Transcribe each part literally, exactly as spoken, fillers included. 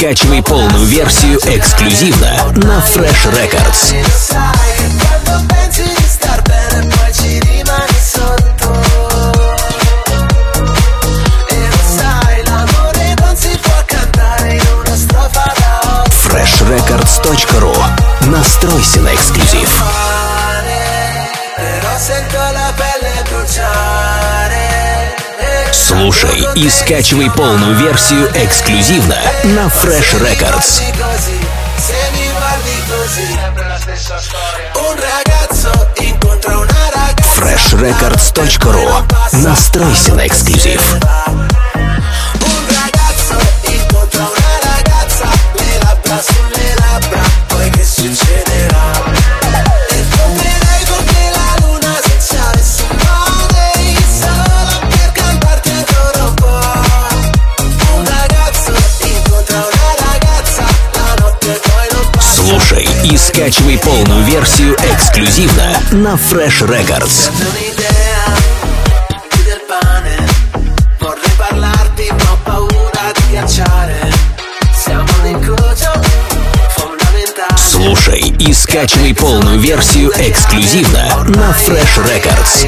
скачивай полную версию эксклюзивно на Fresh Records. фреш рекордс точка ру. Настройся на эксклюзив. Слушай и скачивай полную версию эксклюзивно на Fresh Records. фреш рекордс точка ру. Настройся на эксклюзив. Слушай и скачивай полную версию эксклюзивно на Fresh Records. Слушай и скачивай полную версию эксклюзивно на Fresh Records.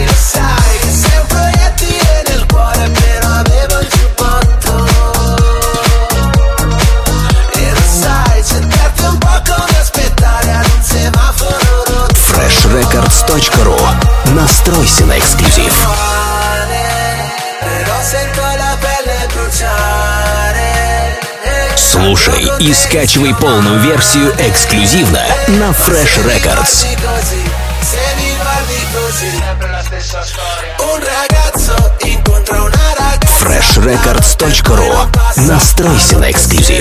фреш рекордс точка ру. Настройся на эксклюзив. Слушай и скачивай полную версию эксклюзивно на Fresh Records. фреш рекордс точка ру. Настройся на эксклюзив.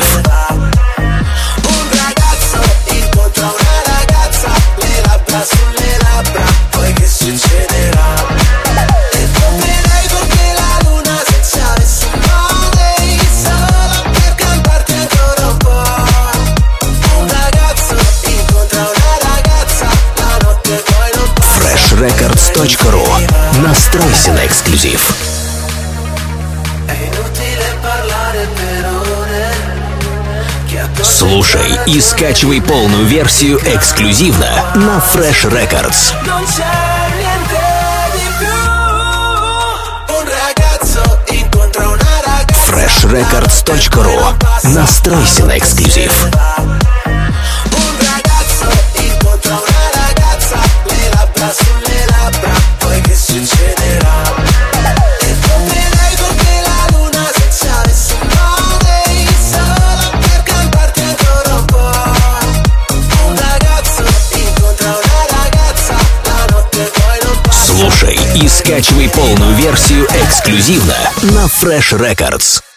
фреш рекордс точка ру. Настройся на эксклюзив. Слушай и скачивай полную версию эксклюзивно на Fresh Records. фреш рекордс точка ру. Настройся на эксклюзив. Слушай и скачивай полную версию эксклюзивно на Fresh Records.